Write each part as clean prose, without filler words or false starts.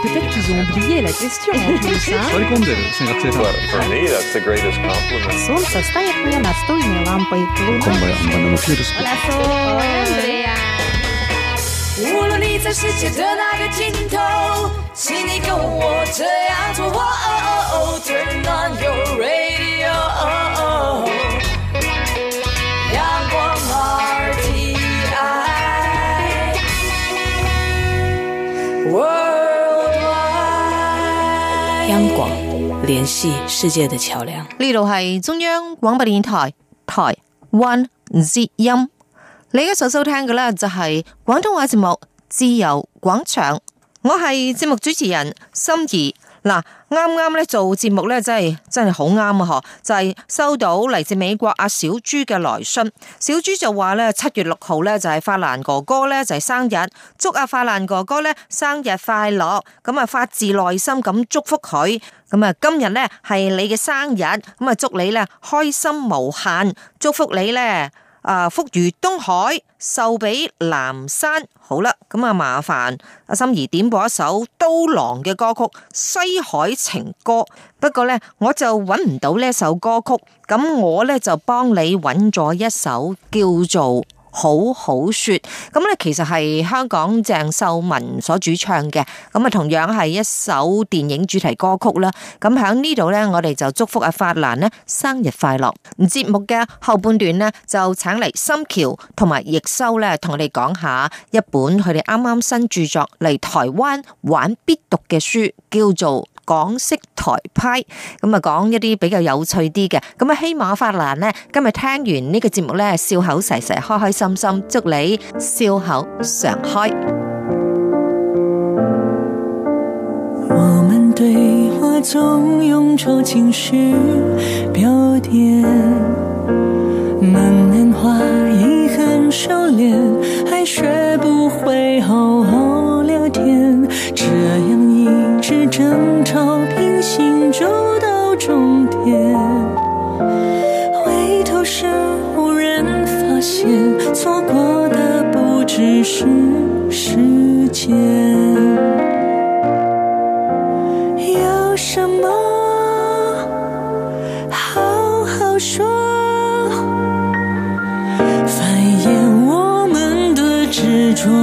peut-être qu'ils ont oublié la question en plus. 割り込んでる学生さん。 For me, that's the greatest compliment. Солнце стоит мне настольной лампой. こんばんは、バンドのピューロス。 Hola, Sol. Andrea. 无论你在世界的哪个尽头，请你跟我这样做。Turn on your radio. 阳光 RTI Worldwide。 央廣聯繫世界的橋樑。 呢度係中央廣播電台台灣之音。你而家所收聽嘅呢，就係廣東話節目《自由廣場》，我係節目主持人心儀。嗱，啱咧做節目咧，真係好啱啊！嗬，就係收到嚟自美國阿小朱嘅來信。小朱就話咧，7月6號咧就係法蘭哥哥咧就係生日，祝阿法蘭哥哥咧生日快樂。咁啊，發自內心咁祝福佢。咁啊，今日咧係你嘅生日，咁啊祝你咧開心無限，祝福你咧。福如東海，壽比南山。好啦，咁啊麻煩阿心怡點播一首刀郎嘅歌曲《西海情歌》。不過呢，我就揾唔到呢首歌曲，咁我呢就幫你揾咗一首叫做好好說，咁咧其實係香港鄭秀文所主唱嘅，咁啊同樣係一首電影主題歌曲啦。咁喺呢度咧，我哋就祝福阿法蘭咧生日快樂。節目嘅後半段咧，就請嚟心橋同埋易修咧，同我哋講下一本佢哋啱啱新著作嚟台灣玩必讀嘅書，叫做港式台派，咁啊講一啲比較有趣啲嘅，咁啊希望法蘭呢今日聽完呢個節目呢，笑口噬噬，開開心心，祝你笑口常開。 我們對話總用愁情詩標點，慢慢話遺憾收斂，還學不會好好聊天，這樣一直爭吵平行走到終點，回頭時無人發現，錯過的不只是時間。有什麼好好說，繁衍我們的執着。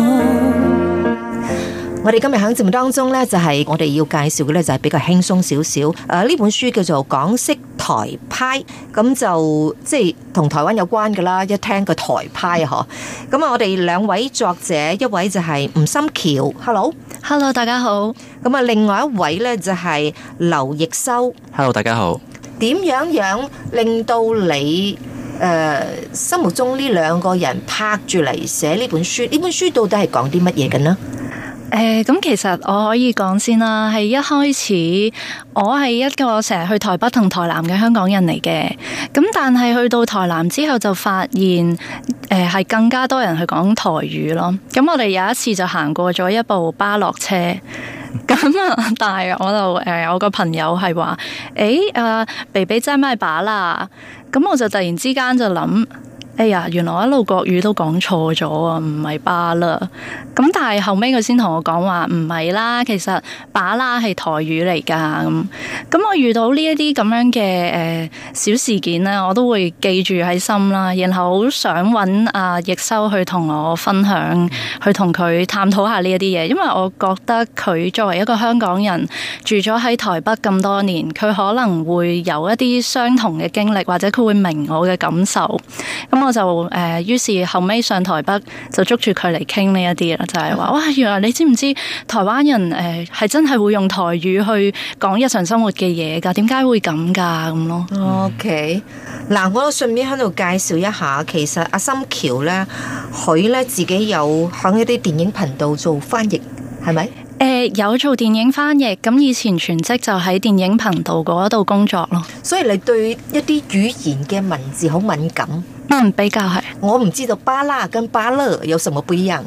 我哋今日喺節目當中呢，就係我哋要介紹嘅呢，就係比較輕鬆少少。呢本書叫做《港式台派》，咁就即係同台灣有關噶啦。一聽個台派嗬，咁啊，我哋兩位作者，一位就係吳心橋 ，Hello， 大家好。 咁啊，另外一位呢，就係劉易修 ，Hello， 大家好。 點樣令到你心目中呢兩個人拍住嚟寫呢本書？呢本書到底係講啲乜嘢嘅呢？ 咁其實我可以講先啦，係一開始我係一個成日去台北同台南嘅香港人嚟嘅，咁但係去到台南之後就發現係更加多人去講台語咯。咁我哋有一次就行過咗一部巴樂車，咁啊，但係我就我個朋友係話北北在賣芭樂，咁我就突然之間就諗，哎呀，原來我一路國語都講錯咗啊，唔係芭樂。咁但係後尾佢先同我講話唔係啦，其實芭樂係台語嚟噶。咁我遇到呢一啲咁樣嘅小事件咧，我都會記住喺心啦。然後好想揾阿易修去同我分享，去同佢探討下呢一啲嘢，因為我覺得佢作為一個香港人住咗喺台北咁多年，佢可能會有一啲相同嘅經歷，或者佢會明我嘅感受。咁我就於是後尾上台北就捉住佢嚟傾呢一啲啦，就係話哇，原來你知唔知台灣人係真係會用台語去講日常生活嘅嘢㗎？點解會咁㗎咁咯 ？OK， 嗱，我順便喺度介紹一下，其實阿心橋咧，佢咧自己有響一啲電影頻道做翻譯，係咪？ 有做電影翻譯，咁以前全職就喺電影頻道嗰度工作咯。 所以你對一啲語言嘅文字好敏感。 比較係。 我唔知道芭樂跟芭樂有什麼不一樣。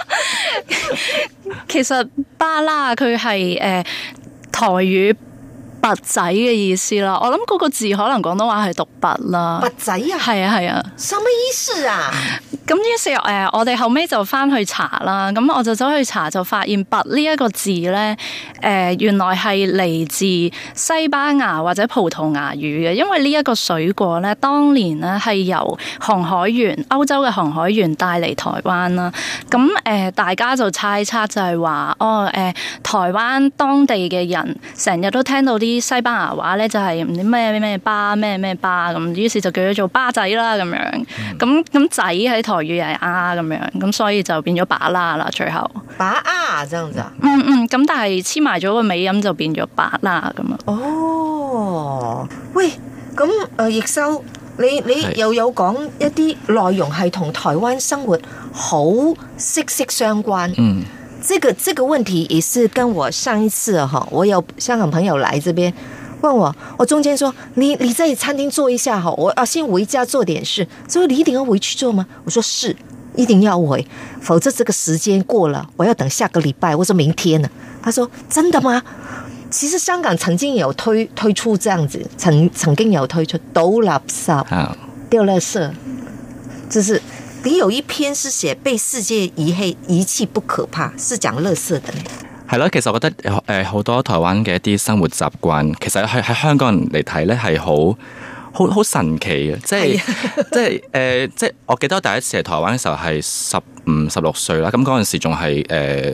其實芭樂佢係台語拔仔嘅意思啦。我諗嗰個字可能廣東話係讀拔啦。 拔仔啊？ 係啊係啊。 什麼意思啊？ 咁於是我哋後尾就翻去查啦，咁我就走去查，就發現拔呢一個字咧，原來係嚟自西班牙或者葡萄牙語嘅，因為呢一個水果咧，當年咧係由航海員歐洲嘅航海員帶嚟台灣啦。咁大家就猜測就係話，台灣當地嘅人成日都聽到啲西班牙話咧，就係唔知咩咩巴咩咩巴咁，於是就叫佢做巴仔啦咁樣。咁仔喺台語係啊咁樣，咁所以就變咗把啦啦，最後把啊，這樣子啊？ 咁但係黐埋咗個尾音就變咗把啦咁啊。 哦，喂，咁易修，你又有講一啲內容係同台灣生活好息息相關。這個問題也是跟我上一次我有香港朋友來這邊問我中間說你在餐廳做一下我要先回家做點事，所以你一定要回去做嗎？我說是，一定要回，否則這個時間過了，我要等下個禮拜，我說明天呢。他說真的嗎？其實香港曾經有推出這樣子，曾經有推出倒垃圾、丟垃圾，就是你有一篇是寫被世界遺棄不可怕，是講垃圾的呢。 係咯，其實我覺得好多台灣嘅一啲生活習慣，其實喺香港人嚟睇咧係好神奇嘅，即係我記得我第一次嚟台灣嘅時候係15、16歲啦，咁嗰陣時仲係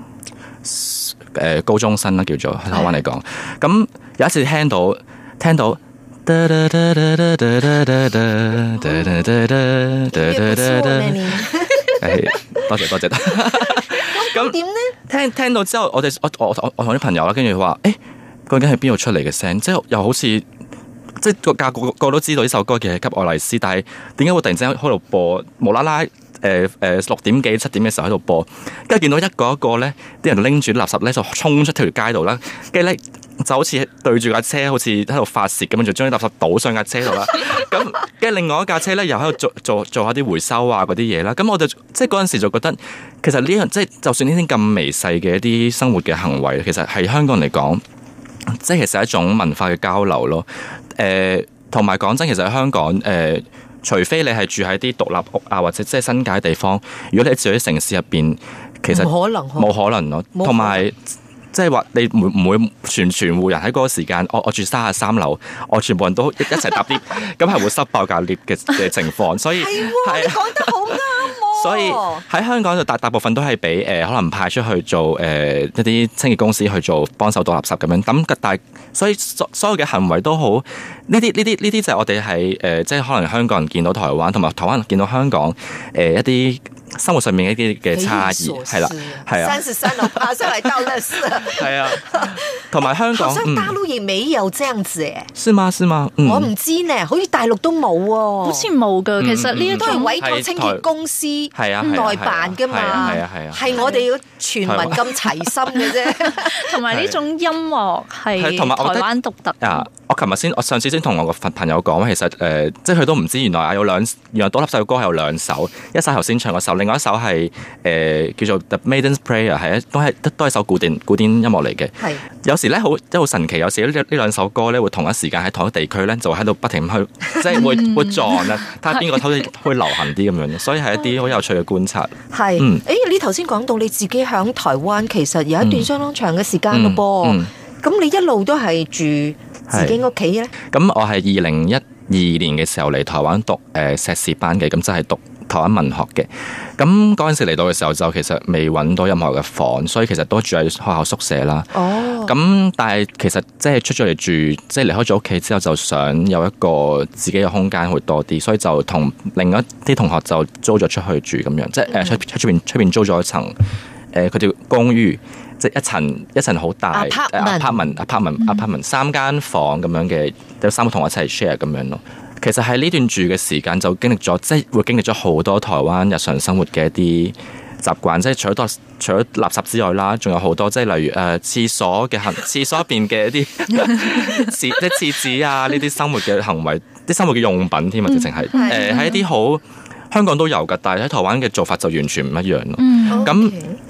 高中生啦，叫做喺台灣嚟講，咁有一次聽到。多謝。 咁點呢？ 聽到之後，我同啲朋友啦，跟住話，究竟係邊度出嚟嘅聲？即係又好似，即係個都知道呢首歌其實係給愛麗絲，但係點解會突然之間喺度播？無啦啦6點幾7點嘅時候喺度播，跟住見到一個一個咧，啲人拎住垃圾咧就衝出條街度啦，跟住咧就好似對住架車，好似喺度發泄咁樣，就將啲垃圾倒上架車度啦。咁跟住另外一架車咧又喺度做下啲回收啊嗰啲嘢啦。咁我就即係嗰陣時就覺得，其實呢樣即係就算呢啲咁微細嘅一啲生活嘅行為，其實係香港人嚟講，即係其實係一種文化嘅交流咯。同埋講真，其實喺香港除非你係住喺啲獨立屋啊，或者即係新界地方，如果你住喺城市入邊，其實冇可能咯。同埋即係話你唔會全戶人喺嗰個時間，我住33樓，我全部人都一齊搭 lift， 咁係會塞爆架 lift 嘅情況。所以係你講得好啱。 所以喺香港就大部分都係俾可能派出去做一啲清潔公司去做幫手倒垃圾咁樣。咁但係所以所有嘅行為都好，呢啲就係我哋係即係可能香港人見到台灣，同埋台灣人見到香港一啲生活上面一啲嘅差異，係啦，係啊，33樓爬上嚟倒垃圾，係啊，同埋香港， 好像大陸也沒有這樣子誒， 是嗎？ 我唔知呢，好似大陸都冇喎， 好似冇㗎。其實呢一都係委託清潔公司內辦㗎嘛，係我哋要全民咁齊心嘅啫。同埋呢種音樂係台灣獨特啊！ 我上次先同我個朋友講，其實即係佢都唔知原來原來倒垃圾嘅歌係有2首，一首頭先唱嗰首，另外一首係叫做 The Maiden's Prayer， 都係首古典音樂嚟嘅。係有時咧好神奇，有時呢2首歌咧會同一時間喺同一地區咧就喺度不停去，即係會撞啊，睇下邊個會流行啲咁樣，所以係一啲好有趣嘅觀察。係， 你頭先講到你自己響台灣，其實有一段相當長嘅時間咯噃，咁你一路都係住自己屋企咧？ 咁我係2012年嘅時候嚟台灣讀碩士班嘅，咁即係讀台灣文學嘅。咁嗰陣時嚟到嘅時候就其實未揾到任何嘅房，所以其實都住喺學校宿舍啦。哦。咁但係其實即係出咗嚟住，即係離開咗屋企之後，就想有一個自己嘅空間會多啲，所以就同另一啲同學就租咗出去住咁樣，即係出邊租咗一層佢叫公寓。即係一層好大 apartment 3間房咁樣嘅，有3個同學一齊 share 咁樣咯。其實喺呢段住嘅時間就經歷咗，即係會經歷咗好多台灣日常生活嘅一啲習慣，即係除咗垃圾之外啦，仲有好多即係例如廁所入邊嘅一啲即係廁紙啊，呢啲生活嘅行為，啲生活嘅用品添啊，直情係喺一啲好香港都有㗎，但係喺台灣嘅做法就完全唔一樣咯。咁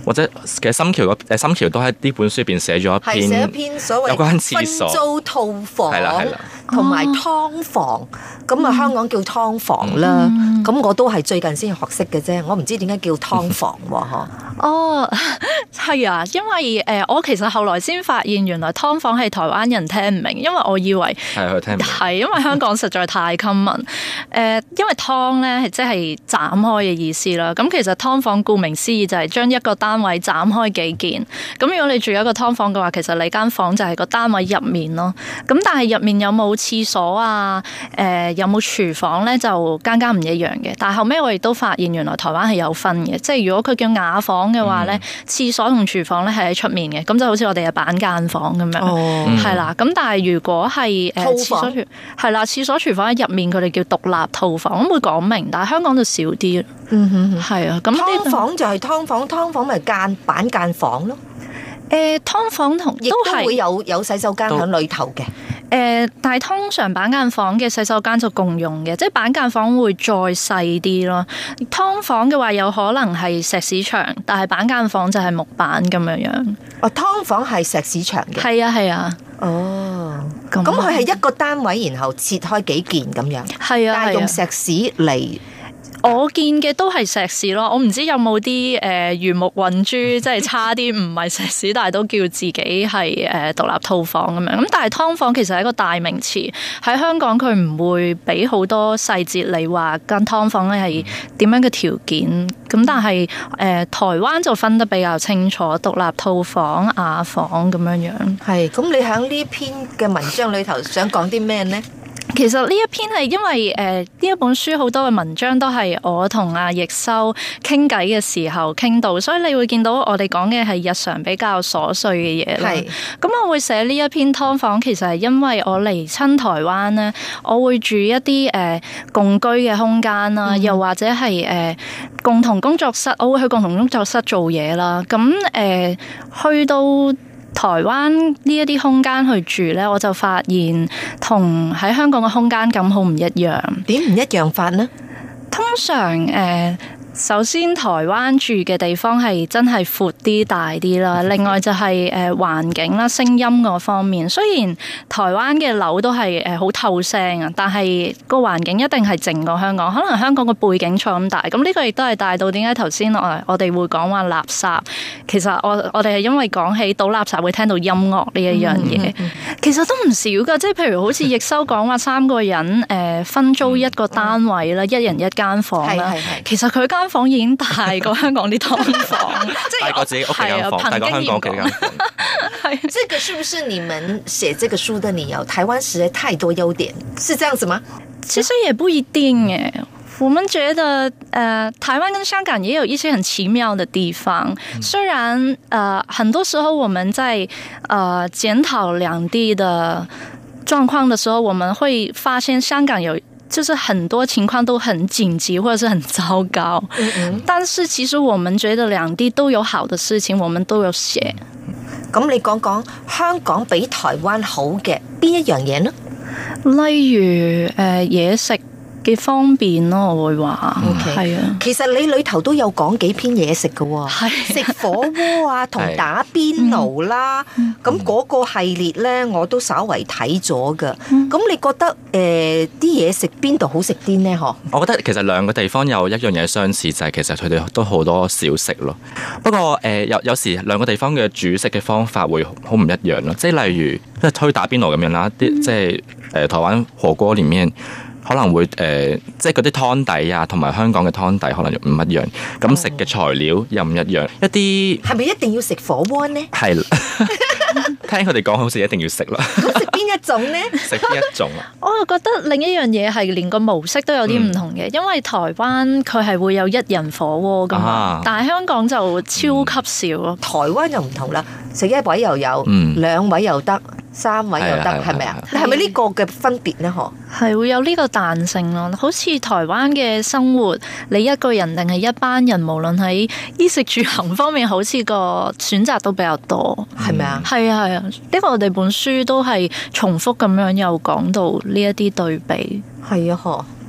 或者其實心橋都喺呢本書入邊寫咗一寫一篇所謂有關廁所分租套房， 係啦同埋劏房，咁啊香港叫劏房啦，咁我都係最近先學識嘅啫，我唔知點解叫劏房喎， 哦，係啊，因為我其實後來先發現原來劏房係台灣人聽唔明，因為我以為係佢聽唔明， 係因為香港實在太 common，因為劏咧係即係斬開嘅意思啦。咁其實劏房顧名思義就係將一個單位斬開幾件。咁如果你住一個劏房嘅話，其實你間房就係個單位入面咯。咁但係入面有冇廁所啊？有冇廚房咧？就間唔一樣嘅。但係後尾我亦都發現原來台灣係有分嘅，即係如果佢叫雅房嘅話咧，廁所同廚房咧係喺出面嘅，咁就好似我哋嘅板間房咁樣，係啦。咁但係如果係廁所係啦，廁所廚房喺入面，佢哋叫獨立套房，咁會講明，但係香港就少啲。係啊，咁劏房就係劏房，劏房咪板間房咯。 劏房同亦都會有洗手間喺裏頭嘅。 但係通常板間房嘅洗手間就共用嘅，即係板間房會再細啲咯。劏房嘅話有可能係石屎牆，但係板間房就係木板咁樣樣。 哦，劏房係石屎牆嘅。 係啊係啊。 哦，咁佢係一個單位，然後切開幾件咁樣。 係啊， 但係用石屎嚟。 我見嘅都係石屎咯，我唔知有冇啲魚目混珠，即係差啲唔係石屎，但係都叫自己係獨立套房咁樣。咁但係劏房其實係一個大名詞，喺香港佢唔會俾好多細節你話間劏房咧係點樣嘅條件。咁但係台灣就分得比較清楚，獨立套房、雅房咁樣樣。 係，咁你喺呢篇嘅文章裏頭想講啲咩呢？ 其實呢一篇係因為呢一本書好多嘅文章都係我同阿易修傾偈嘅時候傾到，所以你會見到我哋講嘅係日常比較瑣碎嘅嘢啦。咁我會寫呢一篇劏房，其實係因為我嚟親台灣咧，我會住一啲共居嘅空間啦，又或者係共同工作室，我會去共同工作室做嘢啦。咁去到台灣呢一啲空間去住呢，我就發現同喺香港嘅空間感好唔一樣。 點唔一樣法呢？ 通常首先台灣住嘅地方係真係闊啲大啲啦，另外就係環境啦、聲音嗰方面。雖然台灣嘅樓都係好透聲啊，但係個環境一定係靜過香港。可能香港個背景錯咁大，咁呢個亦都係大到點解頭先我哋會講話垃圾。其實我哋係因為講起倒垃圾會聽到音樂呢一樣嘢，其實都唔少噶。即係譬如好似易修講話3個人分租一個單位啦，一人一間房啦。其實佢間房已經大過香港啲劏房，即係大過自己屋企間房，大過香港屋企間房。 這個是不是你們寫這個書的理由？台灣實在太多優點，是這樣子嗎？ 其實也不一定誒。我們覺得台灣跟香港也有一些很奇妙的地方。雖然很多時候我們在檢討兩地的狀況的時候，我們會發現香港就是很多情況都很緊急或者是很糟糕，但是其實我們覺得兩地都有好的事情，我們都有寫。 咁你講講香港比台灣好嘅邊一樣嘢呢？ 例如嘢食嘅方便咯，我會話係啊。 其實你裏頭都有講幾篇嘢食嘅喎，食火鍋啊，同打邊爐啦。咁嗰個系列咧，我都稍為睇咗㗎。咁你覺得啲嘢食邊度好食啲呢？嗬？ 我覺得其實兩個地方有一樣嘢相似，就係其實佢哋都好多小食咯。不過有時兩個地方嘅煮食嘅方法會好唔一樣咯。即係例如即係推打邊爐咁樣啦，啲即係台灣火鍋裡面。可能會即係嗰啲湯底啊，同埋香港嘅湯底可能唔一樣。咁食嘅材料又唔一樣。一啲係咪一定要食火鍋呢？係啦， 聽佢哋講好似一定要食啦。 咁食邊一種呢？ 食邊一種啊？ 我又覺得另一樣嘢係連個模式都有啲唔同嘅，因為台灣佢係會有一人火鍋噶嘛，但係香港就超級少咯。 台灣就唔同啦，食一位又有，2位又得。3位又得，係咪啊？係咪呢個嘅分別呢？嗬， 係會有呢個彈性咯。好似台灣嘅生活，你一個人定係一班人，無論喺衣食住行方面，好似個選擇都比較多， 係咪啊？ 係啊係啊，呢個我哋本書都係重複咁樣又講到呢一啲對比。 係啊，嗬。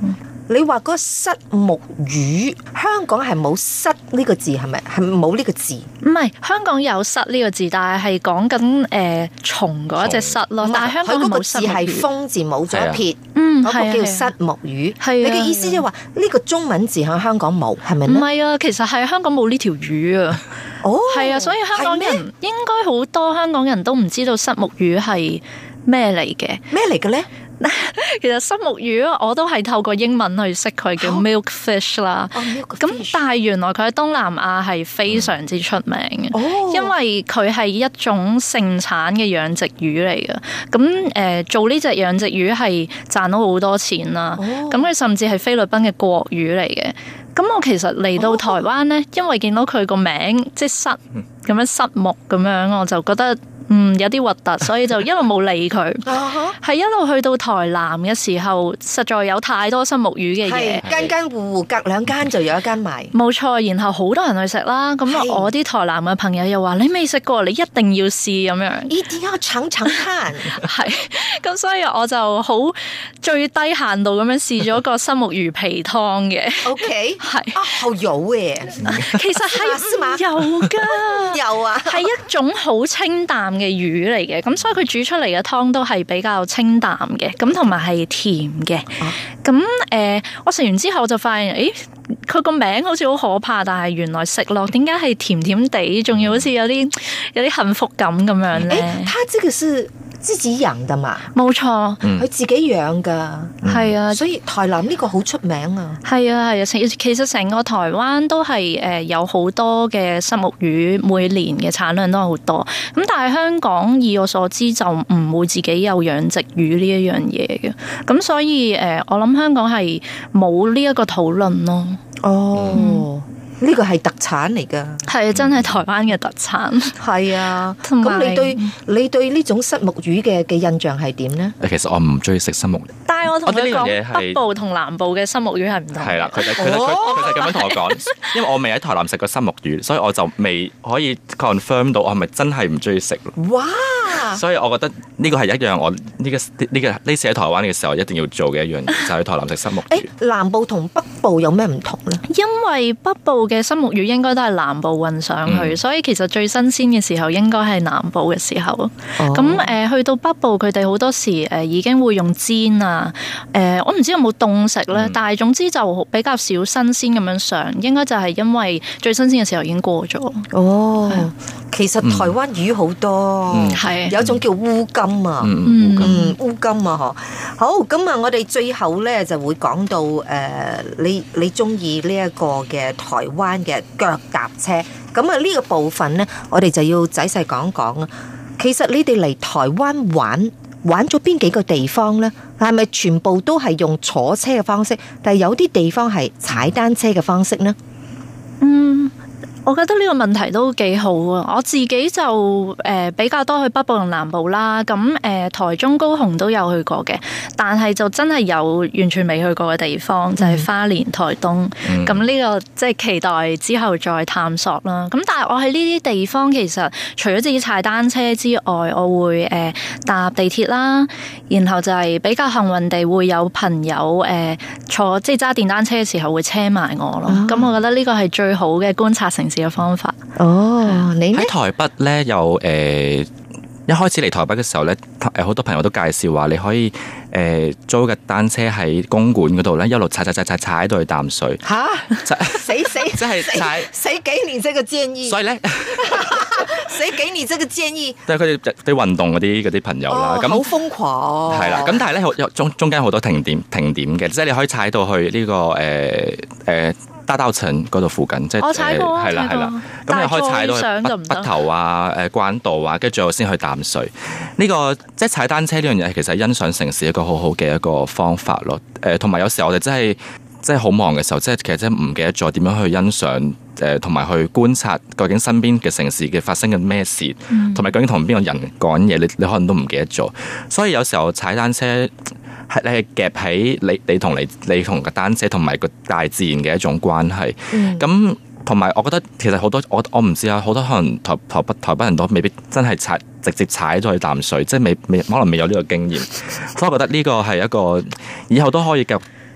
你話嗰個虱目魚，香港係冇虱呢個字，係咪？係冇呢個字？ 唔係，香港有虱呢個字，但係講緊蟲嗰一隻虱咯。但係香港冇虱目魚。佢嗰個字係風字冇咗一撇，嗰個叫虱目魚。你嘅意思即係話呢個中文字喺香港冇，係咪咧？唔係啊，其實係香港冇呢條魚啊。哦，係啊，所以香港人應該好多香港人都唔知道虱目魚係咩嚟嘅。咩嚟嘅咧？其實虱目魚我都係透過英文去識佢，叫 milkfish 啦。咁但係原來佢喺東南亞係非常之出名嘅，因為佢係一種盛產嘅養殖魚嚟嘅。咁做呢隻養殖魚係賺到好多錢啦。咁佢甚至係菲律賓嘅國魚嚟嘅。咁我其實嚟到台灣呢，因為見到佢個名即係虱咁樣虱目咁樣，我就覺得有啲核突，所以就一路冇理佢。係一路去到台南嘅時候，實在有太多虱目魚嘅嘢，間間戶戶隔兩間就有一間賣。冇錯，然後好多人去食啦。咁我啲台南嘅朋友又話：你未食過，你一定要試咁樣。一定要嘗嘗看。係，咁所以我就好最低限度咁樣試咗個虱目魚皮湯嘅。OK， 係啊，好油嘅。其實係有㗎，有啊，係一種好清淡嘅魚嚟嘅，咁所以佢煮出嚟嘅湯都係比較清淡嘅，咁同埋係甜嘅。咁我食完之後就發現，佢個名好似好可怕，但係原來食落點解係甜甜地，仲要好似有啲幸福感咁樣咧？它這個是自己養的嘛？冇錯，佢自己養噶，係啊，所以台南呢個好出名啊。係啊係啊，其實成個台灣都係有好多嘅虱目魚，每年嘅產量都係好多。咁但係香港以我所知就唔會自己有養殖魚呢一樣嘢嘅。咁所以我諗香港係冇呢一個討論咯。哦。呢個係特產嚟噶，係真係台灣嘅特產。係啊，咁你對呢種虱目魚嘅印象係點呢？ 其實我唔中意食虱目魚， 但係我同佢講北部同南部嘅虱目魚係唔同。係啦，佢就咁樣同我講，因為我未喺台南食過虱目魚，所以我就未可以 confirm 到我係咪真係唔中意食。哇！所以我覺得呢個係一樣我呢次喺台灣嘅時候一定要做嘅一樣嘢，就係去台南食虱目魚。南部同北部有咩唔同呢？因為北部嘅虱目魚應該都係南部運上去，所以其實最新鮮嘅時候應該係南部嘅時候。咁去到北部，佢哋好多時已經會用煎啊。我唔知有冇凍食咧，但係總之就比較少新鮮咁樣上，應該就係因為最新鮮嘅時候已經過咗。哦，其實台灣魚好多，係有一種叫烏金啊，烏金啊，嗬。好，咁啊，我哋最後咧就會講到你中意呢一個嘅台灣嘅腳踏車，咁啊呢個部分呢，我哋就要仔細講講啊。其實你哋嚟台灣玩咗邊幾個地方呢？係咪全部都係用坐車嘅方式？但係有啲地方係踩單車嘅方式呢？我覺得呢個問題都幾好啊！我自己就比較多去北部同南部啦，咁台中高雄都有去過嘅，但係就真係有完全未去過嘅地方就係花蓮、台東。咁呢個即係期待之後再探索啦。咁但係我喺呢啲地方其實除咗自己踩單車之外，我會搭地鐵啦，然後就係比較幸運地會有朋友坐即係揸電單車嘅時候會車埋我咯。咁我覺得呢個係最好嘅觀察城市嘅方法。你喺台北咧，又一開始嚟台北嘅時候咧，好多朋友都介紹話你可以租嘅單車喺公館嗰度咧，一路踩到去淡水。吓！死！即係踩死幾年這個建議。所以咧，死幾年這個建議。即係佢哋啲運動嗰啲朋友啦，咁好瘋狂。係啦，咁但係咧中間好多停點嘅，即係你可以踩到去呢個大稻埕嗰度附近，即係係啦，咁你可以踩到去北投啊、關渡啊，跟住我先去淡水。呢個即係踩單車呢樣嘢，其實係欣賞城市一個好好嘅一個方法咯。同埋有時候我哋真係好忙嘅時候，即係其實真係唔記得咗點樣去欣賞同埋去觀察究竟身邊嘅城市嘅發生緊咩事，同埋究竟同邊個人講嘢，你可能都唔記得咗。所以有時候踩單車，你係夾喺你同個單車同埋個大自然嘅一種關係。咁同埋我覺得其實好多我唔知啊，好多可能台北人都未必真係直接踩咗去淡水，即係未可能未有呢個經驗。所以我覺得呢個係一個以後都可以即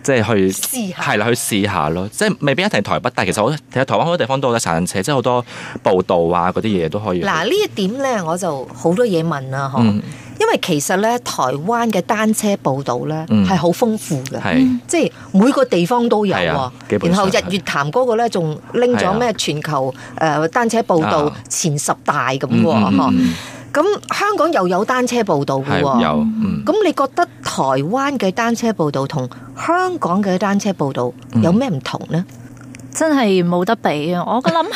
即係去試下係啦，去試下咯。即係未必一定台北，但係其實其實台灣好多地方都有得踩單車，即係好多步道啊嗰啲嘢都可以。 嗱呢一點咧，我就好多嘢問啦，嗬。因為其實咧，台灣嘅單車步道咧係好豐富嘅，即係每個地方都有喎。然後日月潭嗰個咧仲拎咗咩全球單車步道前10大咁喎，嗬。咁香港又有單車步道嘅喎，咁你覺得台灣嘅單車步道同香港嘅單車步道有咩唔同呢？ 真係冇得比啊！我諗。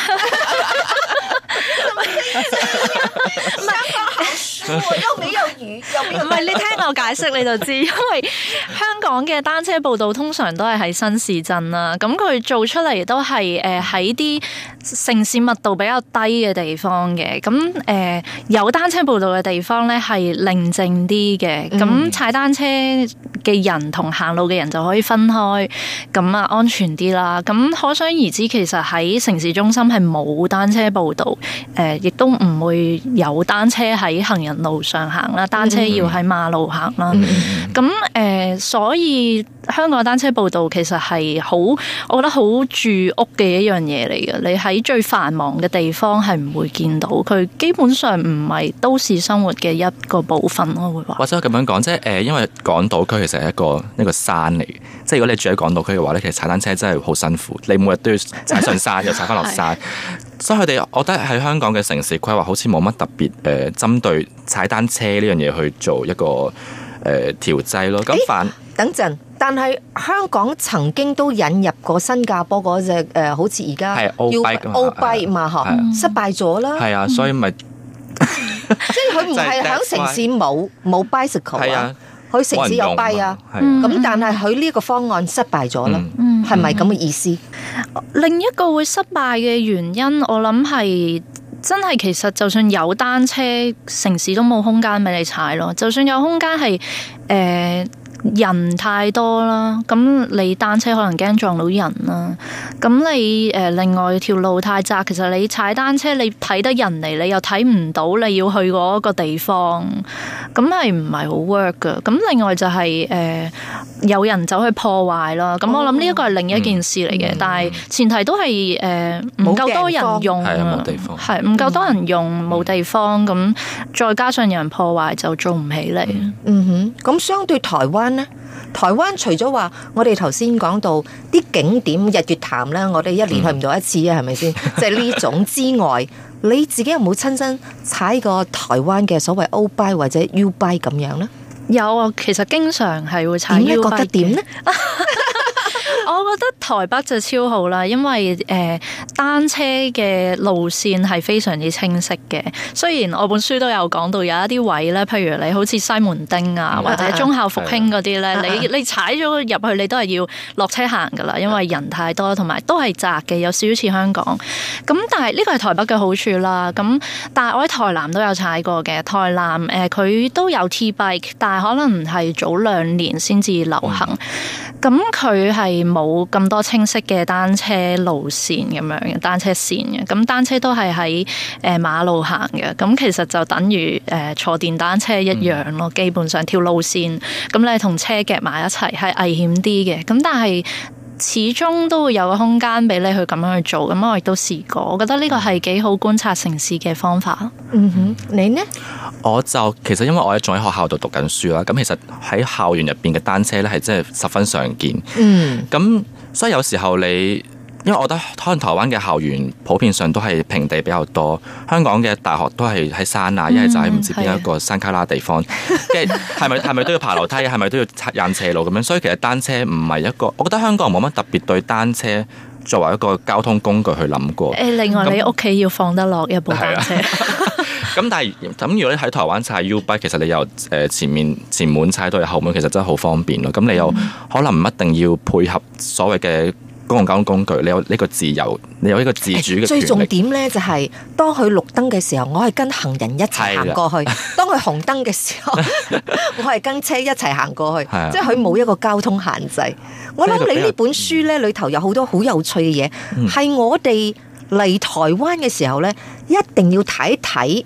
又美又魚， 唔係你聽我解釋你就知，因為香港嘅單車步道通常都係喺新市鎮啦，咁佢做出嚟都係喺啲城市密度比較低嘅地方嘅，咁有單車步道嘅地方咧係寧靜啲嘅，咁踩單車嘅人同行路嘅人就可以分開，咁啊安全啲啦。咁可想而知，其實喺城市中心係冇單車步道，亦都唔會有單車喺行人路上行啦，單車要喺馬路行啦。咁所以香港單車步道其實係好，我覺得好住屋嘅一樣嘢嚟嘅。你喺最繁忙嘅地方係唔會見到，佢基本上唔係都市生活嘅一個部分咯，會話。 或者我咁樣講，即係因為港島區其實係一個山嚟嘅，即係如果你住喺港島區嘅話咧，其實踩單車真係好辛苦，你每日都要踩上山又踩翻落山。所以佢哋，我覺得喺香港嘅城市規劃好似冇乜特別針對踩單車呢樣嘢去做一個調劑咯。咁等陣，但係香港曾經都引入過新加坡嗰隻好似而家係 O-Bike 嘛，嗬，失敗咗啦。 係啊，所以咪即係佢唔係喺城市冇 bicycle 啊。佢城市有跛啊，咁但係佢呢個方案失敗咗啦，係咪咁嘅意思？ 另一個會失敗嘅原因，我諗係真係其實就算有單車，城市都冇空間俾你踩咯。就算有空間係人太多啦，咁你單車可能驚撞到人啦。咁你另外條路太窄，其實你踩單車你睇得人嚟，你又睇唔到你要去嗰個地方，咁係唔係好 work 噶？咁另外就係有人走去破壞啦。咁我諗呢一個係另一件事嚟嘅，但係前提都係唔夠多人用，係唔夠多人用，冇地方，咁再加上有人破壞就做唔起嚟。 咁相對台灣呢？台灣除咗話我哋頭先講到啲景點日月潭咧，我哋一年去唔到一次啊，係咪先？即係呢種之外，你自己有冇親身踩過台灣嘅所謂 O-Bike 或者 U-Bike 咁樣呢？ 有啊，其實經常係會踩 U-Bike。 覺得點呢？ 我覺得台北就超好啦，因為單車嘅路線係非常之清晰嘅。雖然我本書都有講到有一啲位咧，譬如你好似西門町啊，或者忠孝復興嗰啲咧，你踩咗入去，你都係要落車行噶啦，因為人太多，同埋都係窄嘅，有少少似香港。咁但係呢個係台北嘅好處啦。咁但係我喺台南都有踩過嘅，台南佢都有 T-bike， 但係可能係早2年先至流行。咁佢係冇咁多清晰嘅單車路線咁樣嘅單車線嘅，咁單車都係喺馬路行嘅，咁其實就等於坐電單車一樣咯，基本上條路線咁你同車夾埋一齊係危險啲嘅，咁但係始終都會有個空間俾你去咁樣去做，咁我亦都試過，我覺得呢個係幾好觀察城市嘅方法。 你呢？ 我就其實因為我仲喺學校度讀緊書啦，咁其實喺校園入邊嘅單車咧係真係十分常見。咁所以有時候因為我覺得可能台灣嘅校園普遍上都係平地比較多，香港嘅大學都係喺山啊，一係就喺唔知邊一個山卡拉地方，跟住係咪都要爬樓梯，係咪都要踩斜路咁樣？所以其實單車唔係一個，我覺得香港人冇乜特別對單車作為一個交通工具去諗過。 另外你屋企要放得落一部單車。 咁但係咁如果你喺台灣踩 U-Bike， 其實你由前門踩到後門，其實真係好方便咯。咁你又可能唔一定要配合所謂嘅公共交通工具，你有呢個自由，你有呢個自主嘅權力。 最重點咧就係當佢綠燈嘅時候，我係跟行人一齊行過去；當佢紅燈嘅時候，我係跟車一齊行過去。即係佢冇一個交通限制。我諗你呢本書咧裏頭有好多好有趣嘅嘢，係我哋嚟台灣嘅時候咧一定要睇一睇。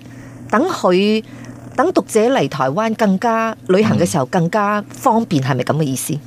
等讀者嚟台灣更加旅行嘅時候更加方便，係咪咁嘅意思？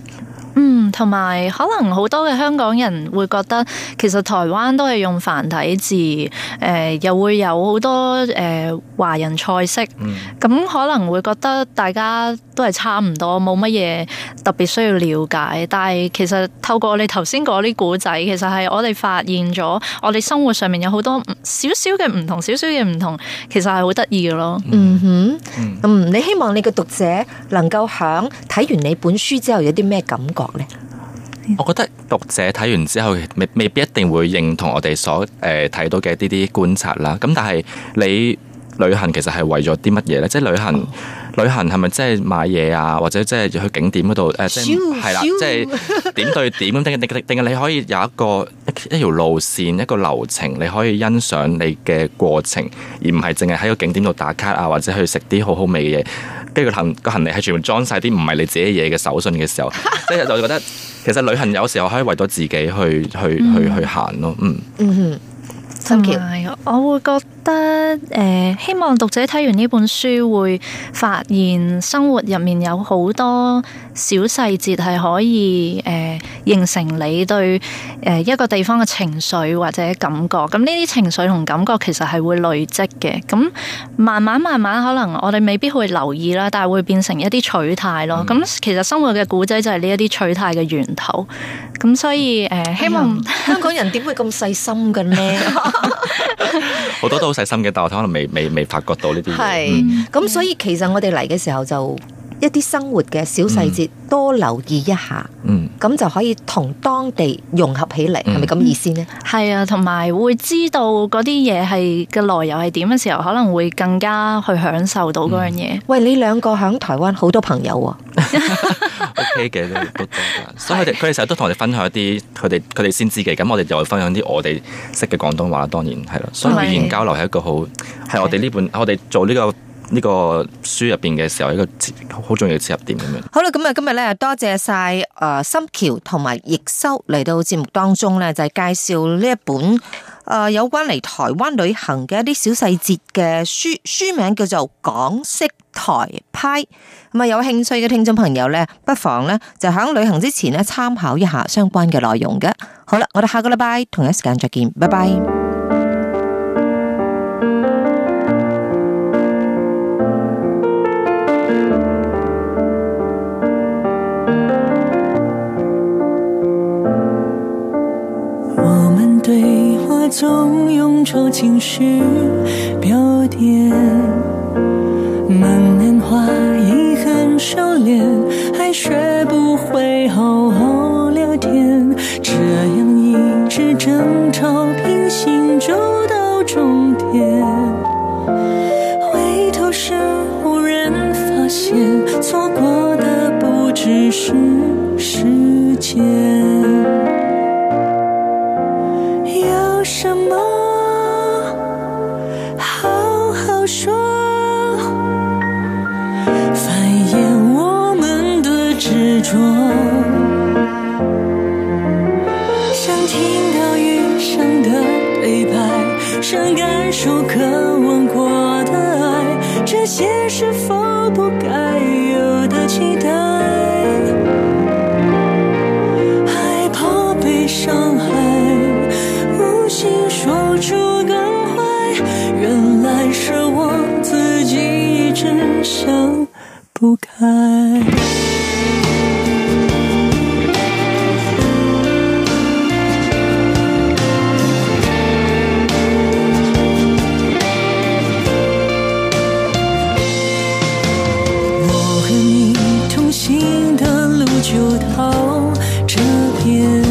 同埋可能好多嘅香港人會覺得，其實台灣都係用繁體字，又會有好多華人菜式，咁可能會覺得大家都係差唔多，冇乜嘢特別需要了解。但係其實透過你頭先講啲古仔，其實係我哋發現咗，我哋生活上面有好多少少嘅唔同，少少嘅唔同，其實係好得意嘅咯。 你希望你嘅讀者能夠響睇完你本書之後有啲咩感覺呢？ 我覺得讀者睇完之後未必一定會認同我哋所睇到嘅呢啲觀察啦。咁但係你旅行其實係為咗啲乜嘢咧？即係旅行係咪即係買嘢啊，或者即係去景點嗰度即係啦，即係點對點咁定係你可以有一條路線一個流程，你可以欣賞你嘅過程，而唔係淨係喺個景點度打卡啊，或者去食啲好好味嘅嘢。跟住個行李係全部裝晒啲唔係你自己嘢嘅手信嘅時候，即係就覺得其實旅行有時候可以為咗自己去行咯。 同埋我會覺得希望讀者睇完呢本書會發現生活入面有好多小細節係可以形成你對一個地方嘅情緒或者感覺。咁呢啲情緒同感覺其實係會累積嘅。咁慢慢可能我哋未必會留意啦，但係會變成一啲取態咯。咁其實生活嘅古仔就係呢一啲取態嘅源頭。咁所以希望香港人點會咁細心嘅呢？ 好多都好細心嘅，但我可能未發覺到呢啲嘢。 係咁，所以其實我哋嚟嘅時候就一啲生活嘅小細節多留意一下，咁就可以同當地融合起嚟，係咪咁意思呢？ 係啊，同埋會知道嗰啲嘢係嘅來由係點嘅時候，可能會更加去享受到嗰樣嘢。 喂，你兩個喺台灣好多朋友喎。 OK 嘅都多噶，所以佢哋成日都同我哋分享一啲佢哋先知嘅，咁我哋就會分享啲我哋識嘅廣東話啦，當然係啦。所以語言交流係一個好係我哋我哋做呢個書入邊嘅時候一個好重要嘅切入點咁樣。 好啦，咁啊今日咧多謝晒心橋同埋易修嚟到節目當中咧，就係介紹呢一本有關嚟台灣旅行嘅一啲小細節嘅書名叫做《港式台派》。咁啊，有興趣嘅聽眾朋友咧，不妨咧就喺旅行之前咧參考一下相關嘅內容嘅。好啦，我哋下個禮拜同一時間再見，拜拜。 我們對話總用着情緒表點，滿年華已很熟練，還學不會好好聊天，這樣一直爭吵平行走到終點，回頭時忽然發現錯過的不只是時間。有什麼好好說，繁衍我們的執着，想聽到餘生的對白，想感受渴望過的愛，這些是否不該有的期待，害怕被傷害，心說出感懷，原來是我自己一直想不開。我和你同行的路就到這邊，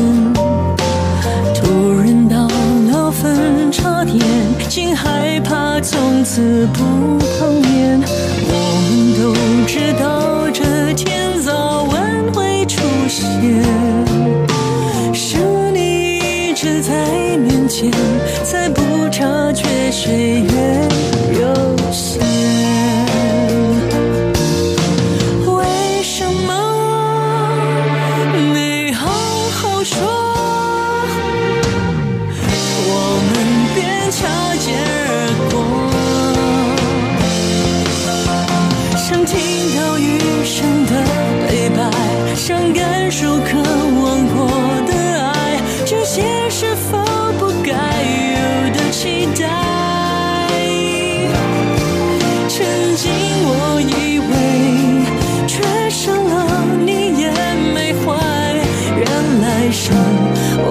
差點竟害怕從此不碰面，我們都知道這天早晚會出現，是你一直在面前，才不察覺歲月有限。為什麼沒好好說，擦肩而過，想聽到餘生的對白，想感受。 是否不该有的期待？